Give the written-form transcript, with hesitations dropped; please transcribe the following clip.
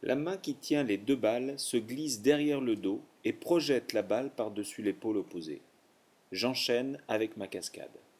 La main qui tient les deux balles se glisse derrière le dos et projette la balle par-dessus l'épaule opposée. J'enchaîne avec ma cascade.